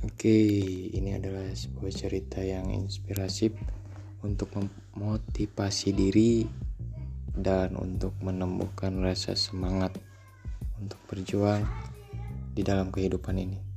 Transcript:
Oke, ini adalah sebuah cerita yang inspiratif untuk memotivasi diri dan untuk menemukan rasa semangat untuk berjuang di dalam kehidupan ini.